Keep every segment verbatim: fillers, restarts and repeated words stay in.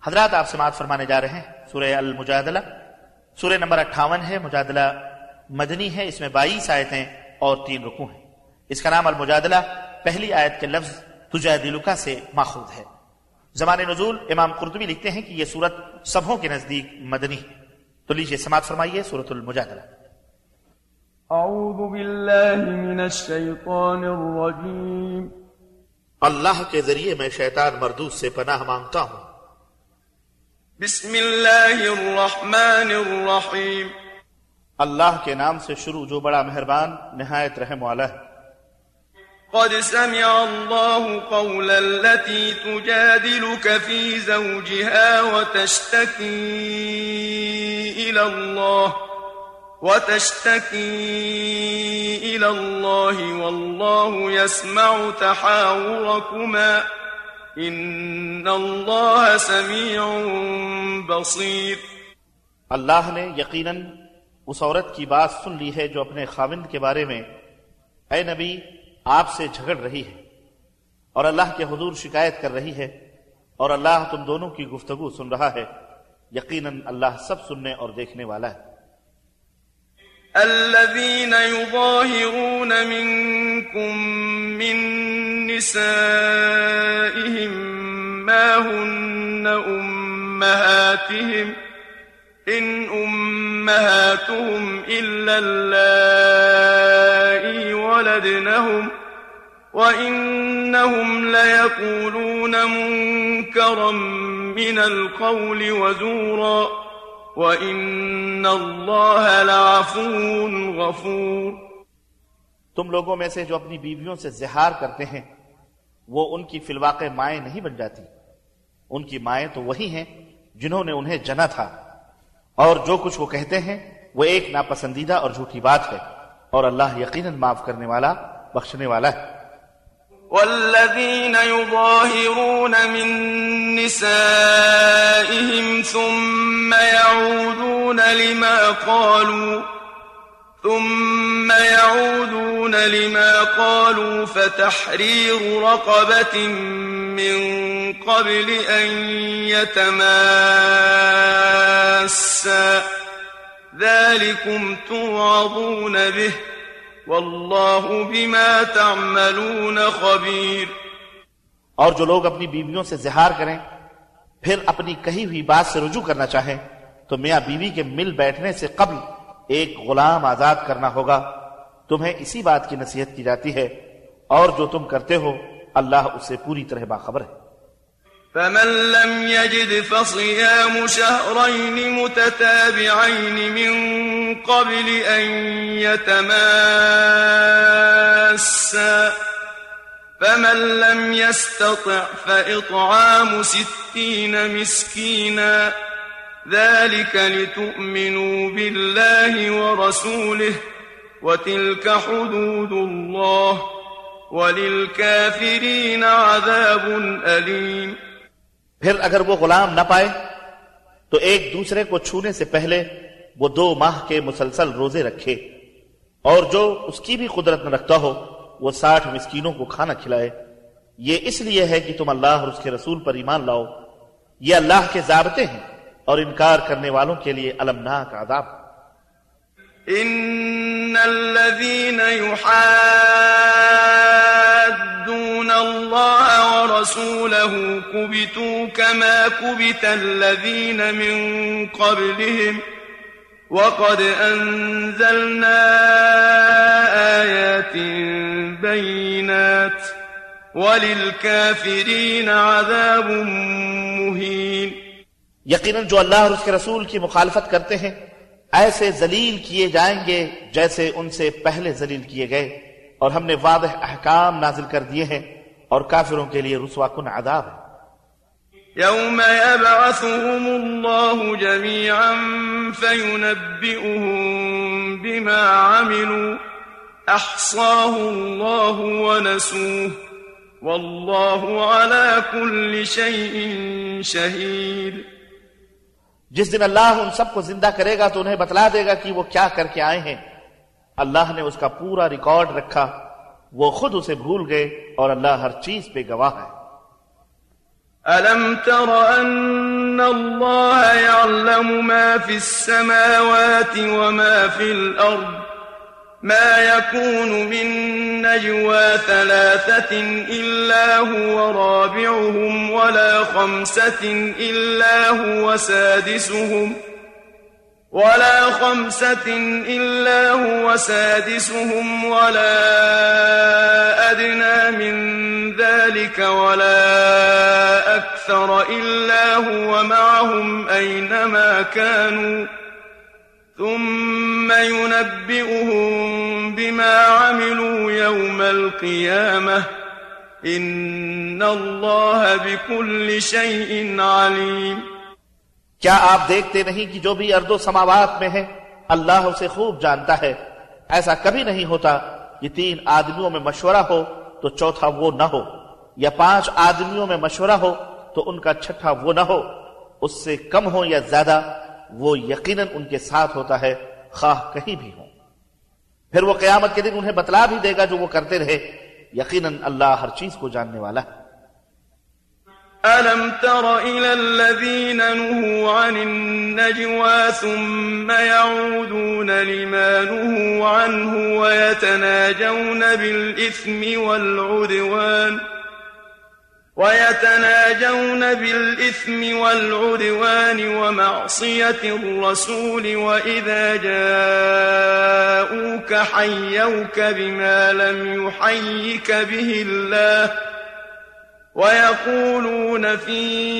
حضرات آپ سماعت فرمانے جا رہے ہیں سورہ المجادلہ، سورہ نمبر اٹھاون ہے، مجادلہ مدنی ہے، اس میں بائیس آیتیں اور تین رکوع ہیں۔ اس کا نام المجادلہ پہلی آیت کے لفظ تجادلک سے ماخوذ ہے۔ زمان نزول امام قرطبی لکھتے ہیں کہ یہ سورت سبھوں کے نزدیک مدنی ہے۔ تو لیجئے سماعت فرمائیے سورۃ المجادلہ۔ اعوذ باللہ من الشیطان الرجیم۔ اللہ کے ذریعے میں شیطان مردود سے پناہ مانگتا ہوں۔ بسم اللہ الرحمن الرحیم۔ اللہ کے نام سے شروع جو بڑا مہربان نہایت رحم والا ہے۔ قد سمع الله قول التي تجادلك في زوجها وتشتكي إلى الله وتشتكي إلى الله والله يسمع تحاوركما إن الله سميع بصير۔ اللہ نے یقیناً اس عورت کی بات سن لی ہے جو اپنے خاوند کے بارے میں اے نبی آپ سے جھگڑ رہی ہے اور اللہ کے حضور شکایت کر رہی ہے، اور اللہ تم دونوں کی گفتگو سن رہا ہے، یقیناً اللہ سب سننے اور دیکھنے والا ہے۔ الذين يظاهرون منكم من نسائهم ما هن أمهاتهم إن أمهاتهم إلا اللائي ولدنهم وإنهم ليقولون منكرا من القول وزورا وَإِنَّ اللَّهَ لَعَفُوٌّ غَفُورٌ۔ تم لوگوں میں سے جو اپنی بیویوں سے زہار کرتے ہیں وہ ان کی فی الواقع مائیں نہیں بن جاتی، ان کی مائیں تو وہی ہیں جنہوں نے انہیں جنا تھا، اور جو کچھ وہ کہتے ہیں وہ ایک ناپسندیدہ اور جھوٹی بات ہے، اور اللہ یقیناً معاف کرنے والا بخشنے والا ہے۔ والذين يظاهرون من نسائهم ثم يعودون لما قالوا ثم يعودون لما قالوا فتحرير رقبة من قبل أن يتماسا ذلكم توعظون به واللہ بما تعملون خبیر۔ اور جو لوگ اپنی بیویوں سے زہار کریں پھر اپنی کہی ہوئی بات سے رجوع کرنا چاہیں تو میاں بیوی کے مل بیٹھنے سے قبل ایک غلام آزاد کرنا ہوگا، تمہیں اسی بات کی نصیحت کی جاتی ہے، اور جو تم کرتے ہو اللہ اس سے پوری طرح باخبر ہے۔ فمن لم يجد فصيام شهرين متتابعين من قبل أن يتماسا فمن لم يستطع فإطعام ستين مسكينا ذلك لتؤمنوا بالله ورسوله وتلك حدود الله وللكافرين عذاب أليم۔ پھر اگر وہ غلام نہ پائے تو ایک دوسرے کو چھونے سے پہلے وہ دو ماہ کے مسلسل روزے رکھے، اور جو اس کی بھی قدرت نہ رکھتا ہو وہ ساٹھ مسکینوں کو کھانا کھلائے، یہ اس لیے ہے کہ تم اللہ اور اس کے رسول پر ایمان لاؤ، یہ اللہ کے ضابطے ہیں، اور انکار کرنے والوں کے لیے المناک عذاب۔ ان الذين يحادون الله ورسوله كبتوا كما كبت الذين من قبلهم وقد أنزلنا آيات بينات وللكافرين عذاب مهين۔ یقیناً جو اللہ اور اس کے رسول کی مخالفت کرتے ہیں ایسے ذلیل کیے جائیں گے جیسے ان سے پہلے ذلیل کیے گئے، اور ہم نے واضح احکام نازل کر دیے ہیں، اور کافروں کے لیے رسوا کن عذاب ہے۔ يوم يبعثهم الله جميعا فينبئهم بما عملوا أحصاه الله ونسوه والله على كل شيء شهيد۔ جس دن اللہ ان سب کو زندہ کرے گا تو انہیں بتلا دے گا کہ وہ کیا کر کے آئے ہیں، اللہ نے اس کا پورا ریکارڈ رکھا، وہ خود اسے بھول گئے، اور اللہ ہر چیز پہ گواہ ہے۔ أَلَمْ تَرَ أَنَّ إن الله يعلم ما في السماوات وما في الأرض ما يكون من نجوى ثلاثة إلا هو رابعهم ولا خمسة إلا هو سادسهم ولا خمسة إلا هو سادسهم ولا أدنى من ذلك ولا أكثر إلا هو معهم أينما كانوا ثم ينبئهم بما عملوا يوم القيامة إن الله بكل شيء عليم. کیا آپ دیکھتے نہیں کہ جو بھی ارض و سماوات میں ہے اللہ اسے خوب جانتا ہے؟ ایسا کبھی نہیں ہوتا کہ تین آدمیوں میں مشورہ ہو تو چوتھا وہ نہ ہو، یا پانچ آدمیوں میں مشورہ ہو تو ان کا چھٹا وہ نہ ہو، اس سے کم ہو یا زیادہ وہ یقیناً ان کے ساتھ ہوتا ہے خواہ کہیں بھی ہوں. پھر وہ قیامت کے دن انہیں بتلا بھی دے گا جو وہ کرتے رہے، یقیناً اللہ ہر چیز کو جاننے والا ہے. أَلَمْ تَرَ إِلَى الَّذِينَ نُهُوا عَنِ النَّجْوَى ثُمَّ يَعُودُونَ لِمَا نُهُوا عَنْهُ وَيَتَنَاجَوْنَ بِالْإِثْمِ وَالْعُدْوَانِ وَيَتَنَاجَوْنَ بِالْإِثْمِ وَالْعُدْوَانِ وَمَعْصِيَةِ الرَّسُولِ وَإِذَا جَاءُوكَ حَيَّوْكَ بِمَا لَمْ يُحَيِّكَ بِهِ اللَّهُ وَيَقُولُونَ فِي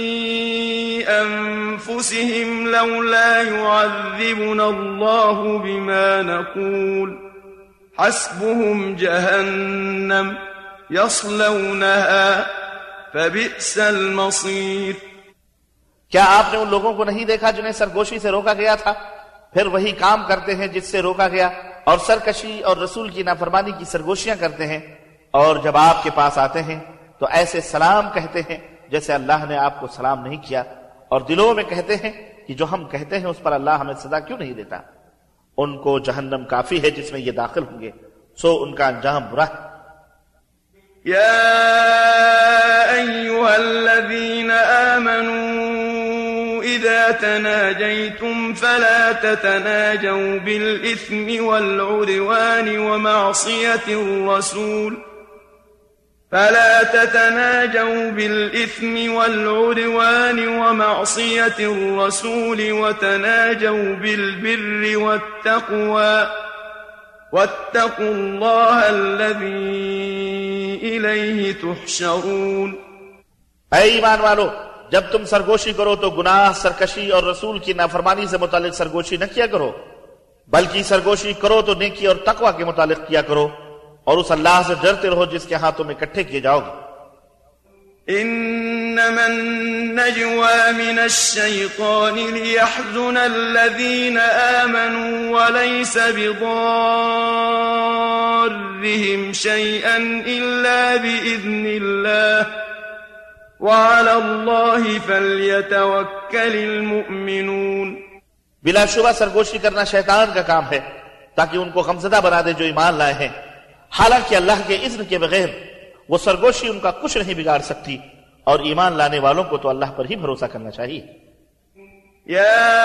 أَنفُسِهِمْ لَوْلَا يُعَذِّبُنَا اللَّهُ بِمَا نَقُولُ حَسْبُهُمْ جَهَنَّمُ يَصْلَوْنَهَا فَبِئْسَ الْمَصِيرُ. کیا آپ نے ان لوگوں کو نہیں دیکھا جنہیں سرگوشی سے روکا گیا تھا، پھر وہی کام کرتے ہیں جس سے روکا گیا، اور سرکشی اور رسول کی نافرمانی کی سرگوشیاں کرتے ہیں، اور جب آپ کے پاس آتے ہیں تو ایسے سلام کہتے ہیں جیسے اللہ نے آپ کو سلام نہیں کیا، اور دلوں میں کہتے ہیں کہ جو ہم کہتے ہیں اس پر اللہ ہمیں سزا کیوں نہیں دیتا. ان کو جہنم کافی ہے جس میں یہ داخل ہوں گے، سو ان کا انجام برا ہے. يا أيها الذين آمنوا إذا تناجيتم فلا تتناجوا بالإثم والعدوان ومعصية الرسول فلا تتناجوا بالإثم والعدوان ومعصية الرسول وتناجوا بالبر والتقوى واتقوا الله الذي إليه تحشرون. اے ایمان والو، جب تم سرگوشی کرو تو گناہ، سرکشی اور رسول کی نافرمانی سے متعلق سرگوشی نہ کیا کرو، بلکہ سرگوشی کرو تو نیکی اور تقوی کے متعلق کیا کرو، اور اس اللہ سے ڈرتے رہو جس کے ہاں تم اکٹھے کیے جاؤ گے. إنما النجوى من الشيطان ليحزن الذين آمنوا وليس بضارهم شيئا إلا بإذن الله وعلى الله فليتوكل المؤمنون. بلا شبہ سرگوشی کرنا شیطان کا کام ہے تاکہ ان کو غمزدہ بنا دے جو ایمان لائے ہیں، حالانکہ اللہ کے اذن کے بغیر وہ سرگوشی ان کا کچھ نہیں بگاڑ سکتی، اور ایمان لانے والوں کو تو اللہ پر ہی بھروسہ کرنا چاہیے. يا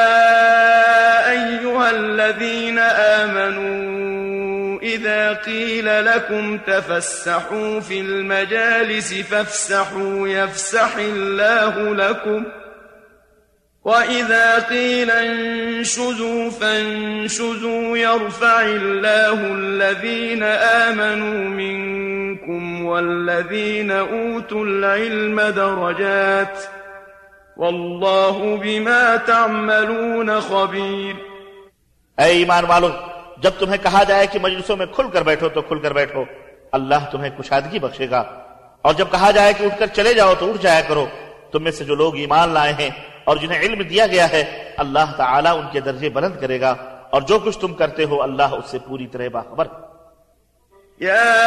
أيها الذين آمنوا إذا قيل لكم تفسحوا في المجالس فافسحوا يفسح الله لكم وَإِذَا قِيلَ انشُزُوا فَانشُزُوا يَرْفَعِ اللَّهُ الَّذِينَ آمَنُوا مِنكُمْ وَالَّذِينَ أُوتُوا الْعِلْمَ دَرَجَاتٍ وَاللَّهُ بِمَا تَعْمَلُونَ خَبِيرٌ. اے ایمان والو، جب تمہیں کہا جائے کہ مجلسوں میں کھل کر بیٹھو تو کھل کر بیٹھو، اللہ تمہیں کشادگی بخشے گا، اور جب کہا جائے کہ اٹھ کر چلے جاؤ تو اٹھ جایا کرو. تم میں سے جو لوگ ایمان لائے ہیں اور جنہیں علم دیا گیا ہے، اللہ تعالیٰ ان کے درجے بلند کرے گا، اور جو کچھ تم کرتے ہو اللہ اس سے پوری طرح باخبر. يا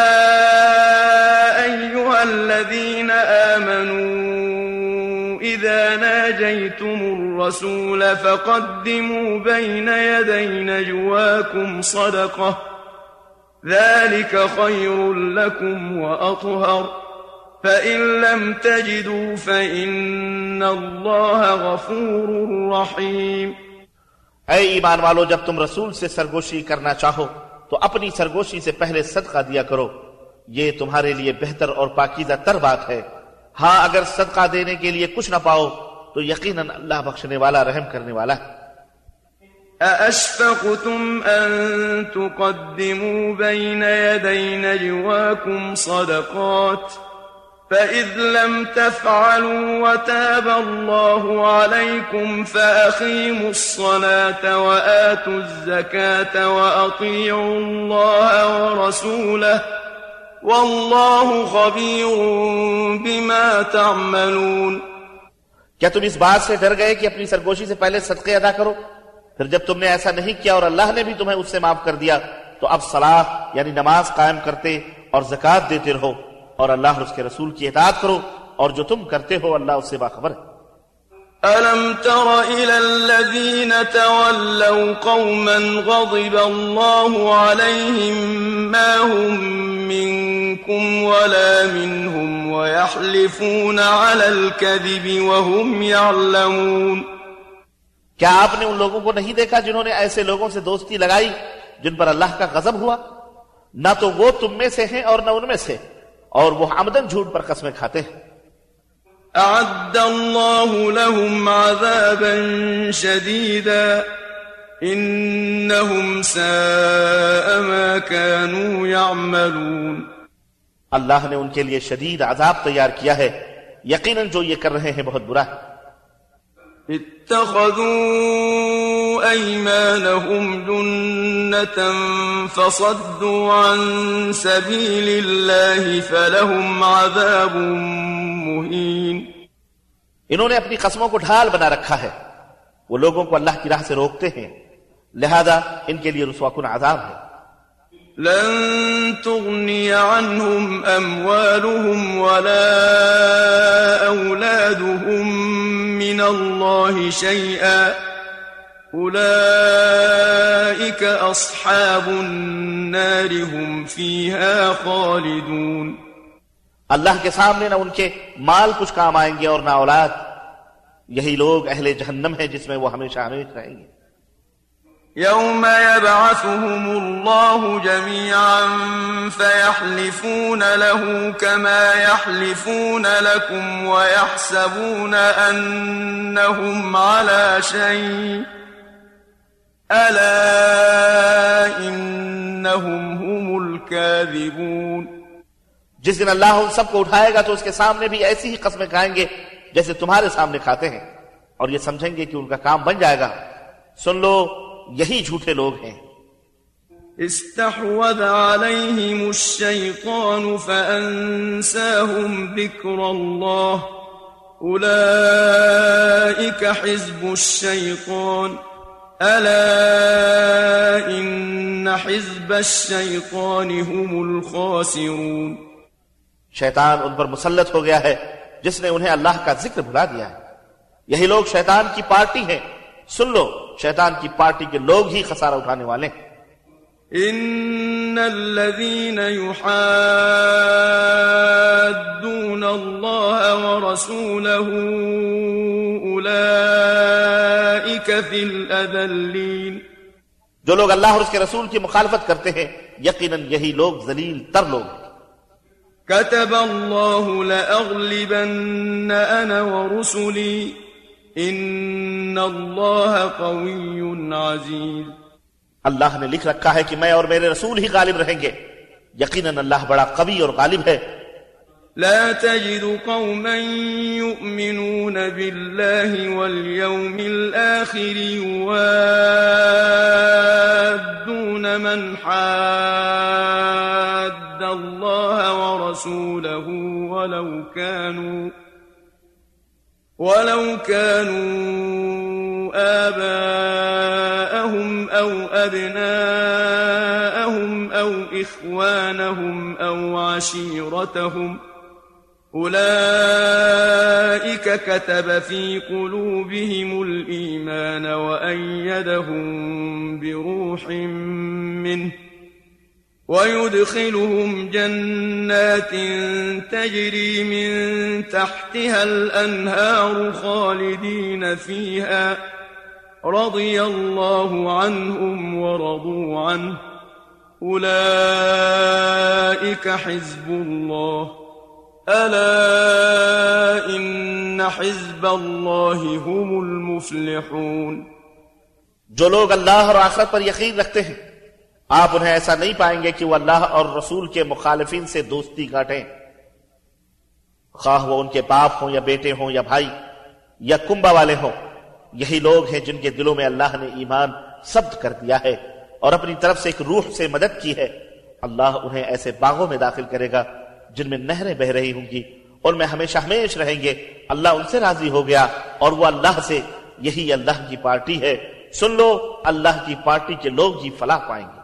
أيها الذين آمنوا إذا ناجيتم الرسول فقدموا بين يدي نجواكم صدقة ذلك خير لكم وأطهر فإن لم تجدوا فإن الله غفور رحيم. اے ایمان والو، جب تم رسول سے سرگوشی کرنا چاہو تو اپنی سرگوشی سے پہلے صدقہ دیا کرو، یہ تمہارے لیے بہتر اور پاکیزہ تر بات ہے. ہاں اگر صدقہ دینے کے لیے کچھ نہ پاؤ تو یقیناً اللہ بخشنے والا رحم کرنے والا ہے. أَأَشْفَقْتُمْ أَن تُقَدِّمُوا بَيْنَ يَدَيْ نَجْوَاكُمْ صَدَقَاتٍ فَإِذْ لَمْ تَفْعَلُوا وَتَابَ اللَّهُ عَلَيْكُمْ فَأَقِيمُوا الصَّلَاةَ وَآتُوا الزَّكَاةَ وَأَطِيعُوا اللَّهَ وَرَسُولَهُ وَاللَّهُ خَبِيرٌ بِمَا تَعْمَلُونَ. کیا تم اس بات سے ڈر گئے کہ اپنی سرگوشی سے پہلے صدقے ادا کرو؟ پھر جب تم نے ایسا نہیں کیا اور اللہ نے بھی تمہیں اس سے معاف کر دیا تو اب صلاۃ یعنی نماز قائم کرتے اور زکوٰۃ دیتے رہو اور اللہ اور اس کے رسول کی اطاعت کرو، اور جو تم کرتے ہو اللہ اس سے باخبر ہے. أَلَمْ تَرَ إِلَى الَّذِينَ تَوَلَّوْا قَوْمًا غَضِبَ اللَّهُ عَلَيْهِمْ مَا هُمْ مِنكُمْ وَلَا مِنْهُمْ وَيَحْلِفُونَ عَلَى الْكَذِبِ وَهُمْ يَعْلَمُونَ. کیا آپ نے ان لوگوں کو نہیں دیکھا جنہوں نے ایسے لوگوں سے دوستی لگائی جن پر اللہ کا غضب ہوا؟ نہ تو وہ تم میں سے ہیں اور نہ ان میں سے، اور وہ عمدن جھوٹ پر قسمیں کھاتے ہیں. أعد الله لهم عذابا شديدا إنهم ساء ما كانوا يعملون. اللہ نے ان کے لیے شدید عذاب تیار کیا ہے، یقیناً جو یہ کر رہے ہیں بہت برا ہے. اتخذوا أيمانهم جنة فصدوا عن سبيل الله فلهم عذاب مهين. انہوں نے اپنی قسموں کو ڈھال بنا رکھا ہے، وہ لوگوں کو اللہ کی راہ سے روکتے ہیں، لہذا ان کے لیے رسوا کن عذاب ہے. لن تغني عنهم أموالهم ولا أولادهم من الله شيئا أولئك أصحاب النار هم فيها خالدون. اللہ کے سامنے نہ ان کے مال کچھ کام آئیں گے اور نہ اولاد، یہی لوگ اہل جہنم ہیں جس میں وہ ہمیشہ ہمیشہ رہیں گے. يوم يبعثهم الله جميعا فيحلفون له كما يحلفون لكم ويحسبون أنهم على شيء ألا إنهم هم الكاذبون. جس دن اللہ ان سب کو اٹھائے گا تو اس کے سامنے بھی ایسی ہی قسمیں کھائیں گے جیسے تمہارے سامنے کھاتے ہیں، اور یہ سمجھیں گے کہ ان کا کام بن جائے گا. سن لو یہی جھوٹے لوگ ہیں. استحوذ عليهم الشيطان فأنساهم ذكر الله أولئك حزب الشيطان ألا إن حزب الشيطان هم الخاسرون. شیطان ان پر مسلط ہو گیا ہے جس نے انہیں اللہ کا ذکر بھلا دیا ہے، یہی لوگ شیطان کی پارٹی ہیں. سن لو شیطان کی پارٹی کے لوگ ہی خسارہ اٹھانے والے ہیں. ان الذين يحادون الله ورسوله اولئك في الاذلين. جو لوگ اللہ اور اس کے رسول کی مخالفت کرتے ہیں یقیناً یہی لوگ ذلیل تر لوگ ہیں. كتب الله لأغلبن أنا ورسلي إن الله قوي عزيز. اللہ نے لکھ رکھا ہے کہ میں اور میرے رسول ہی غالب رہیں گے، یقیناً اللہ بڑا قوی اور غالب ہے. لا تجد قوما يؤمنون بالله واليوم الآخر يوادون من حاد الله ورسوله ولو كانوا ولو كانوا آباءهم أو أبناءهم أو إخوانهم أو عشيرتهم أولئك كتب في قلوبهم الإيمان وأيدهم بروح منه ويدخلهم جنات تجري من تحتها الأنهار خالدين فيها رضي الله عنهم ورضوا عنه أولئك حزب الله ألا إن حزب الله هم المفلحون. جو لوگ اللہ اور آخرت پر یقین رکھتے ہیں آپ انہیں ایسا نہیں پائیں گے کہ وہ اللہ اور رسول کے مخالفین سے دوستی کاٹیں، خواہ وہ ان کے باپ ہوں یا بیٹے ہوں یا بھائی یا کنبہ والے ہوں. یہی لوگ ہیں جن کے دلوں میں اللہ نے ایمان ثبت کر دیا ہے اور اپنی طرف سے ایک روح سے مدد کی ہے. اللہ انہیں ایسے باغوں میں داخل کرے گا جن میں نہریں بہ رہی ہوں گی، ان میں ہمیشہ ہمیش رہیں گے. اللہ ان سے راضی ہو گیا اور وہ اللہ سے. یہی اللہ کی پارٹی ہے. سن لو اللہ کی پارٹی کے لوگ ہی فلاح پائیں گے.